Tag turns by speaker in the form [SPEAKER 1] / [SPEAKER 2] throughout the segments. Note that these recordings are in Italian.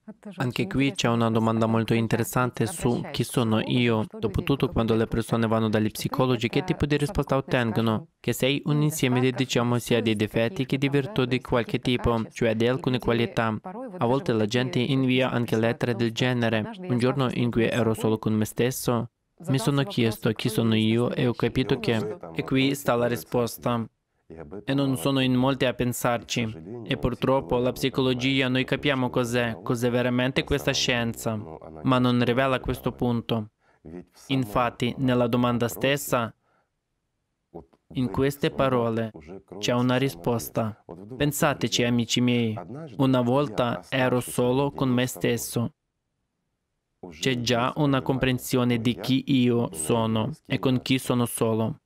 [SPEAKER 1] Anche qui c'è una domanda molto interessante su chi sono io. Dopotutto, quando le persone vanno dagli psicologi, che tipo di risposta ottengono? Che sei un insieme di, diciamo, sia di difetti che di virtù di qualche tipo, cioè di alcune qualità. A volte la gente invia anche lettere del genere. Un giorno in cui ero solo con me stesso, mi sono chiesto chi sono io e ho capito che... E qui sta la risposta. E non sono in molti a pensarci. E purtroppo la psicologia, noi capiamo cos'è veramente questa scienza, ma non rivela questo punto. Infatti, nella domanda stessa, in queste parole, c'è una risposta. Pensateci, amici miei, una volta ero solo con me stesso. C'è già una comprensione di chi io sono e con chi sono solo.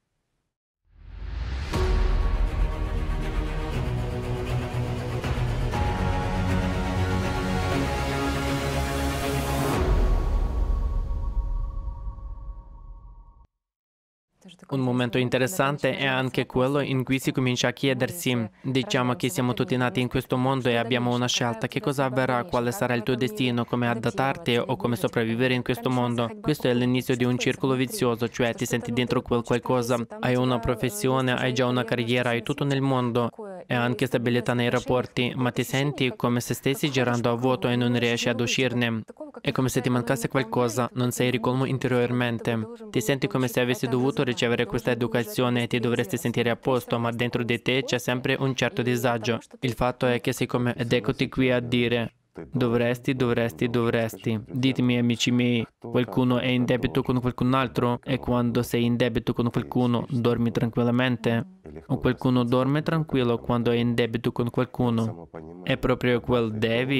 [SPEAKER 1] Un momento interessante è anche quello in cui si comincia a chiedersi, diciamo che siamo tutti nati in questo mondo e abbiamo una scelta, che cosa avverrà, quale sarà il tuo destino, come adattarti o come sopravvivere in questo mondo. Questo è l'inizio di un circolo vizioso, cioè ti senti dentro quel qualcosa, hai una professione, hai già una carriera, hai tutto nel mondo e anche stabilità nei rapporti, ma ti senti come se stessi girando a vuoto e non riesci ad uscirne. È come se ti mancasse qualcosa, non sei ricolmo interiormente. Ti senti come se avessi dovuto ricevere questa educazione e ti dovresti sentire a posto, ma dentro di te c'è sempre un certo disagio. Il fatto è che sei come... Ed eccoti qui a dire... Dovresti. Ditemi, amici miei, qualcuno è in debito con qualcun altro? E quando sei in debito con qualcuno, dormi tranquillamente? O qualcuno dorme tranquillo quando è in debito con qualcuno? È proprio quel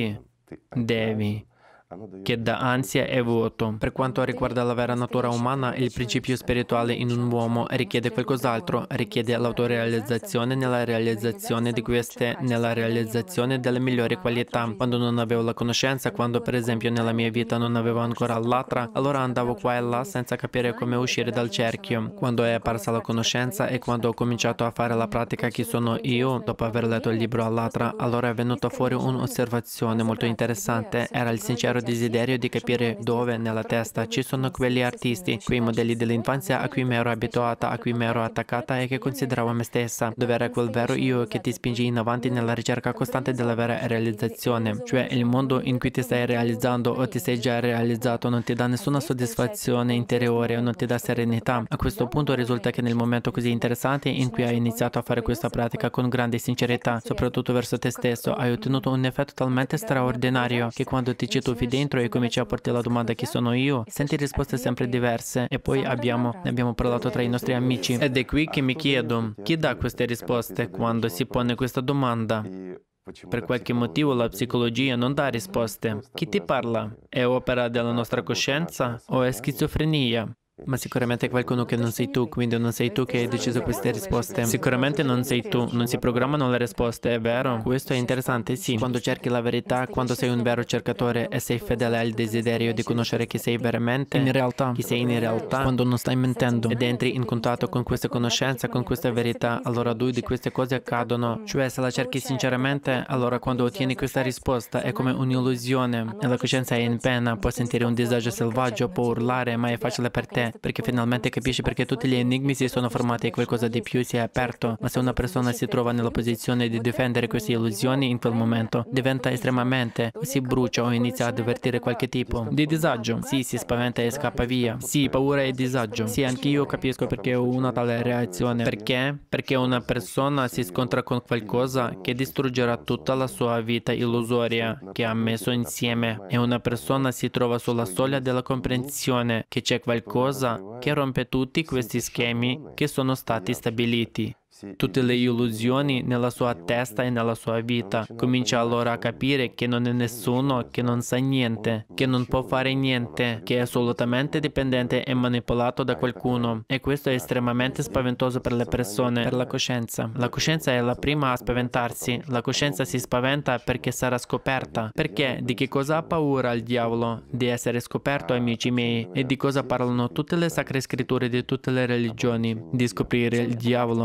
[SPEAKER 1] devi, che dà ansia e vuoto. Per quanto riguarda la vera natura umana, il principio spirituale in un uomo richiede qualcos'altro, richiede l'autorealizzazione nella realizzazione di queste, nella realizzazione delle migliori qualità. Quando non avevo la conoscenza, quando per esempio nella mia vita non avevo ancora l'altra, allora andavo qua e là senza capire come uscire dal cerchio. Quando è apparsa la conoscenza e quando ho cominciato a fare la pratica chi sono io, dopo aver letto il libro all'altra, allora è venuta fuori un'osservazione molto interessante. Era il sincero desiderio di capire dove nella testa ci sono quegli artisti, quei modelli dell'infanzia a cui mi ero abituata, a cui mi ero attaccata e che consideravo me stessa, dove era quel vero io che ti spinge in avanti nella ricerca costante della vera realizzazione, cioè il mondo in cui ti stai realizzando o ti sei già realizzato non ti dà nessuna soddisfazione interiore o non ti dà serenità. A questo punto risulta che nel momento così interessante in cui hai iniziato a fare questa pratica con grande sincerità, soprattutto verso te stesso, hai ottenuto un effetto talmente straordinario che quando ti ci tuffi dentro e cominci a porti la domanda chi sono io, senti risposte sempre diverse e poi ne abbiamo parlato tra i nostri amici. Ed è qui che mi chiedo, chi dà queste risposte quando si pone questa domanda? Per qualche motivo la psicologia non dà risposte. Chi ti parla? È opera della nostra coscienza o è schizofrenia? Ma sicuramente è qualcuno che non sei tu, quindi non sei tu che hai deciso queste risposte. Sicuramente non sei tu, non si programmano le risposte, è vero? Questo è interessante, sì. Quando cerchi la verità, quando sei un vero cercatore e sei fedele al desiderio di conoscere chi sei veramente, in realtà, chi sei in realtà, quando non stai mentendo ed entri in contatto con questa conoscenza, con questa verità, allora due di queste cose accadono. Cioè, se la cerchi sinceramente, allora quando ottieni questa risposta è come un'illusione e la coscienza è in pena, può sentire un disagio selvaggio, può urlare, ma è facile per te, perché finalmente capisci perché tutti gli enigmi si sono formati e qualcosa di più si è aperto. Ma se una persona si trova nella posizione di difendere queste illusioni, in quel momento diventa estremamente, si brucia o inizia ad avvertire qualche tipo di disagio. Sì, si spaventa e scappa via. Sì, paura e disagio. Sì, anche io capisco perché ho una tale reazione. Perché? Perché una persona si scontra con qualcosa che distruggerà tutta la sua vita illusoria che ha messo insieme e una persona si trova sulla soglia della comprensione che c'è qualcosa che rompe tutti questi schemi che sono stati stabiliti. Tutte le illusioni nella sua testa e nella sua vita. Comincia allora a capire che non è nessuno, che non sa niente, che non può fare niente, che è assolutamente dipendente e manipolato da qualcuno. E questo è estremamente spaventoso per le persone, per la coscienza. La coscienza è la prima a spaventarsi. La coscienza si spaventa perché sarà scoperta. Perché? Di che cosa ha paura il diavolo? Di essere scoperto, amici miei. E di cosa parlano tutte le sacre scritture di tutte le religioni? Di scoprire il diavolo. E questo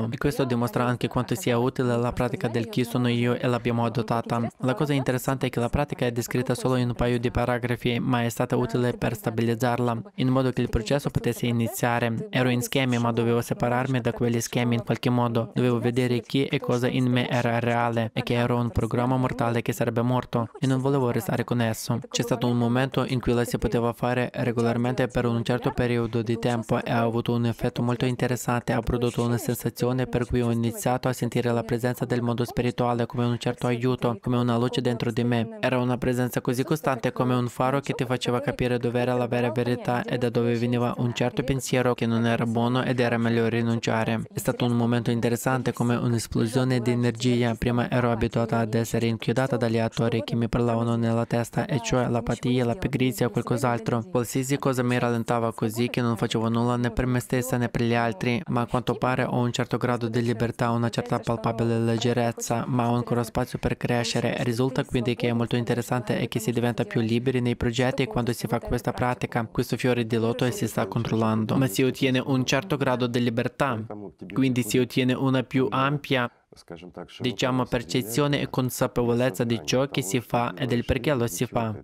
[SPEAKER 1] questo dimostra anche quanto sia utile la pratica del chi sono io e l'abbiamo adottata. La cosa interessante è che la pratica è descritta solo in un paio di paragrafi, ma è stata utile per stabilizzarla, in modo che il processo potesse iniziare. Ero in schemi, ma dovevo separarmi da quegli schemi in qualche modo. Dovevo vedere chi e cosa in me era reale e che ero un programma mortale che sarebbe morto e non volevo restare con esso. C'è stato un momento in cui la si poteva fare regolarmente per un certo periodo di tempo e ha avuto un effetto molto interessante. Ha prodotto una sensazione per cui ho iniziato a sentire la presenza del mondo spirituale come un certo aiuto, come una luce dentro di me. Era una presenza così costante come un faro che ti faceva capire dove era la vera verità e da dove veniva un certo pensiero che non era buono ed era meglio rinunciare. È stato un momento interessante come un'esplosione di energia. Prima ero abituata ad essere inchiodata dagli attori che mi parlavano nella testa, e cioè l'apatia, la pigrizia o qualcos'altro. Qualsiasi cosa mi rallentava così che non facevo nulla né per me stessa né per gli altri, ma a quanto pare ho un certo grado di libertà, una certa palpabile leggerezza, ma ho ancora spazio per crescere. Risulta quindi che è molto interessante e che si diventa più liberi nei progetti quando si fa questa pratica, questo fiore di loto, e si sta controllando. Ma si ottiene un certo grado di libertà, quindi si ottiene una più ampia, diciamo, percezione e consapevolezza di ciò che si fa e del perché lo si fa.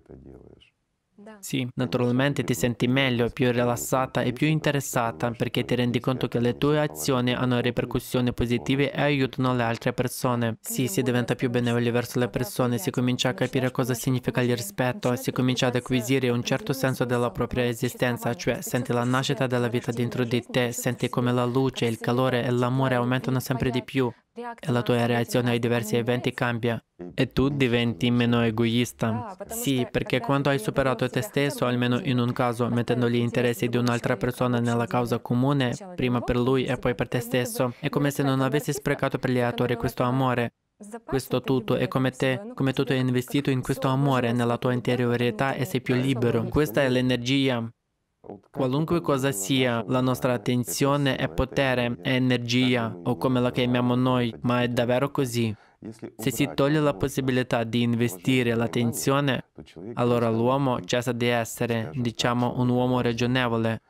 [SPEAKER 1] Sì, naturalmente ti senti meglio, più rilassata e più interessata perché ti rendi conto che le tue azioni hanno ripercussioni positive e aiutano le altre persone. Sì, si diventa più benevoli verso le persone, si comincia a capire cosa significa il rispetto, si comincia ad acquisire un certo senso della propria esistenza, cioè senti la nascita della vita dentro di te, senti come la luce, il calore e l'amore aumentano sempre di più e la tua reazione ai diversi eventi cambia. E tu diventi meno egoista. Sì, perché quando hai superato te stesso, almeno in un caso, mettendo gli interessi di un'altra persona nella causa comune, prima per lui e poi per te stesso, è come se non avessi sprecato per gli attori questo amore. Questo tutto è come te, come tu hai investito in questo amore nella tua interiorità e sei più libero. Questa è l'energia. Qualunque cosa sia, la nostra attenzione è potere, è energia, o come la chiamiamo noi, ma è davvero così. Se si toglie la possibilità di investire l'attenzione, allora l'uomo cessa di essere, diciamo, un uomo ragionevole.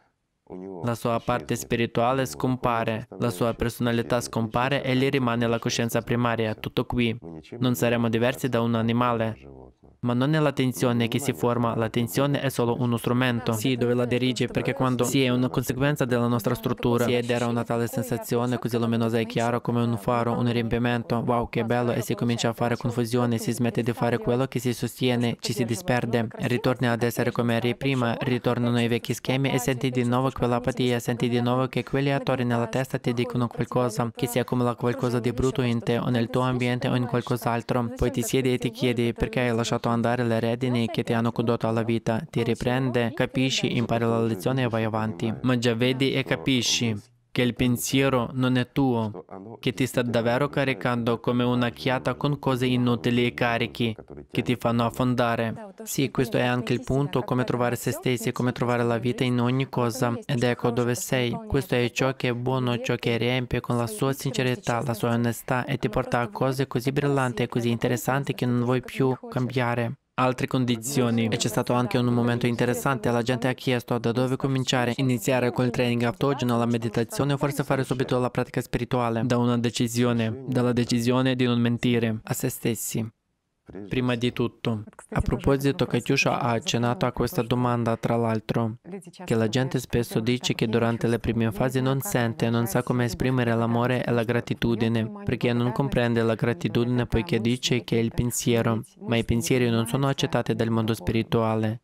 [SPEAKER 1] La sua parte spirituale scompare, la sua personalità scompare e gli rimane la coscienza primaria, tutto qui. Non saremo diversi da un animale. Ma non è l'attenzione che si forma, l'attenzione è solo uno strumento. Sì, dove la dirigi, perché quando sì, è una conseguenza della nostra struttura. Sì, ed era una tale sensazione così luminosa e chiara come un faro, un riempimento. Wow, che bello! E si comincia a fare confusione, si smette di fare quello che si sostiene, ci si disperde. Ritorni ad essere come eri prima, ritornano i vecchi schemi e senti di nuovo quell'apatia, senti di nuovo che quegli attori nella testa ti dicono qualcosa, che si accumula qualcosa di brutto in te o nel tuo ambiente o in qualcos'altro. Poi ti siedi e ti chiedi perché hai lasciato andare le redini che ti hanno condotto alla vita, ti riprende, capisci, impari la lezione e vai avanti. Ma già vedi e capisci che il pensiero non è tuo, che ti sta davvero caricando come una chiata con cose inutili e carichi che ti fanno affondare. Sì, questo è anche il punto, come trovare se stessi, come trovare la vita in ogni cosa. Ed ecco dove sei. Questo è ciò che è buono, ciò che riempie con la sua sincerità, la sua onestà e ti porta a cose così brillanti e così interessanti che non vuoi più cambiare. Altre condizioni. E c'è stato anche un momento interessante, la gente ha chiesto da dove cominciare, iniziare col training autogeno, la meditazione o forse fare subito la pratica spirituale, da una decisione, dalla decisione di non mentire a se stessi. Prima di tutto, a proposito, Katiuscia ha accennato a questa domanda, tra l'altro, che la gente spesso dice che durante le prime fasi non sente, non sa come esprimere l'amore e la gratitudine, perché non comprende la gratitudine poiché dice che è il pensiero, ma i pensieri non sono accettati dal mondo spirituale.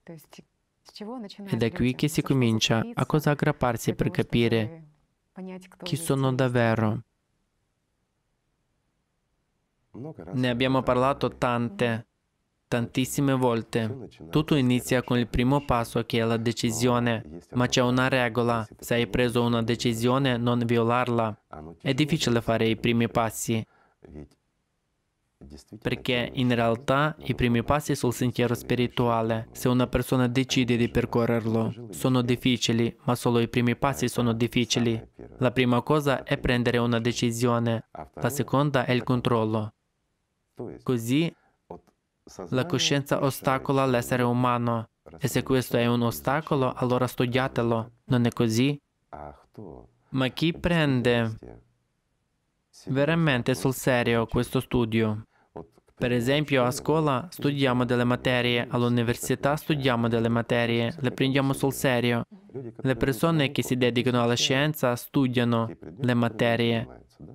[SPEAKER 1] Ed è qui che si comincia a cosa aggrapparsi per capire chi sono davvero. Ne abbiamo parlato tantissime volte. Tutto inizia con il primo passo che è la decisione, ma c'è una regola. Se hai preso una decisione, non violarla. È difficile fare i primi passi, perché in realtà i primi passi sul sentiero spirituale, se una persona decide di percorrerlo, sono difficili, ma solo i primi passi sono difficili. La prima cosa è prendere una decisione, la seconda è il controllo. Così la coscienza ostacola l'essere umano, e se questo è un ostacolo, allora studiatelo. Non è così? Ma chi prende veramente sul serio questo studio. Per esempio, a scuola studiamo delle materie, all'università studiamo delle materie, le prendiamo sul serio. Le persone che si dedicano alla scienza studiano le materie,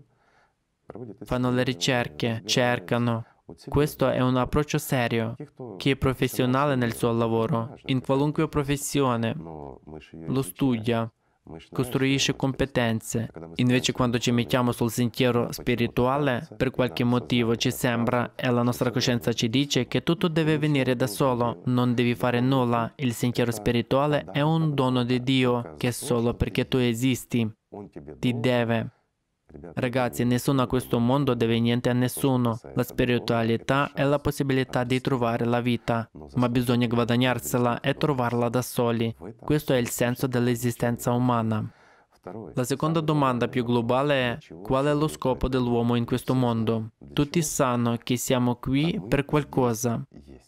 [SPEAKER 1] fanno le ricerche, cercano. Questo è un approccio serio. Chi è professionale nel suo lavoro, in qualunque professione, lo studia, costruisce competenze. Invece quando ci mettiamo sul sentiero spirituale, per qualche motivo ci sembra e la nostra coscienza ci dice che tutto deve venire da solo, non devi fare nulla. Il sentiero spirituale è un dono di Dio che solo perché tu esisti ti deve. Ragazzi, nessuno a questo mondo deve niente a nessuno. La spiritualità è la possibilità di trovare la vita, ma bisogna guadagnarsela e trovarla da soli. Questo è il senso dell'esistenza umana. La seconda domanda più globale è: qual è lo scopo dell'uomo in questo mondo? Tutti sanno che siamo qui per qualcosa.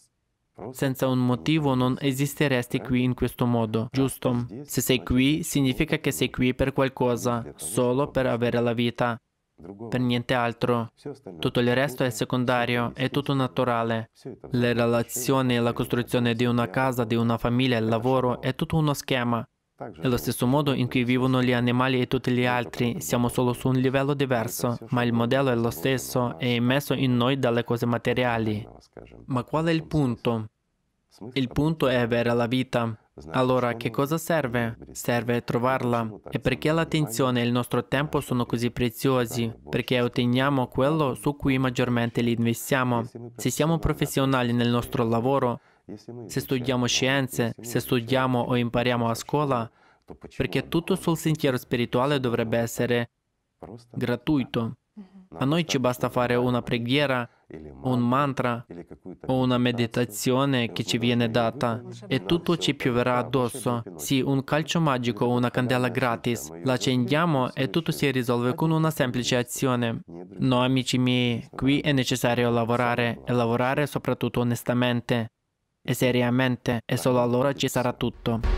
[SPEAKER 1] Senza un motivo non esisteresti qui in questo modo, giusto? Se sei qui, significa che sei qui per qualcosa, solo per avere la vita, per niente altro. Tutto il resto è secondario, è tutto naturale. Le relazioni, la costruzione di una casa, di una famiglia, il lavoro, è tutto uno schema. È lo stesso modo in cui vivono gli animali e tutti gli altri, siamo solo su un livello diverso, ma il modello è lo stesso, è immesso in noi dalle cose materiali. Ma qual è il punto? Il punto è avere la vita. Allora, che cosa serve? Serve trovarla. E perché l'attenzione e il nostro tempo sono così preziosi? Perché otteniamo quello su cui maggiormente li investiamo. Se siamo professionali nel nostro lavoro, se studiamo scienze, se studiamo o impariamo a scuola, perché tutto sul sentiero spirituale dovrebbe essere gratuito. A noi ci basta fare una preghiera, un mantra o una meditazione che ci viene data e tutto ci pioverà addosso. Sì, un calcio magico o una candela gratis. La accendiamo e tutto si risolve con una semplice azione. No, amici miei, qui è necessario lavorare e lavorare soprattutto onestamente e seriamente e solo allora ci sarà tutto.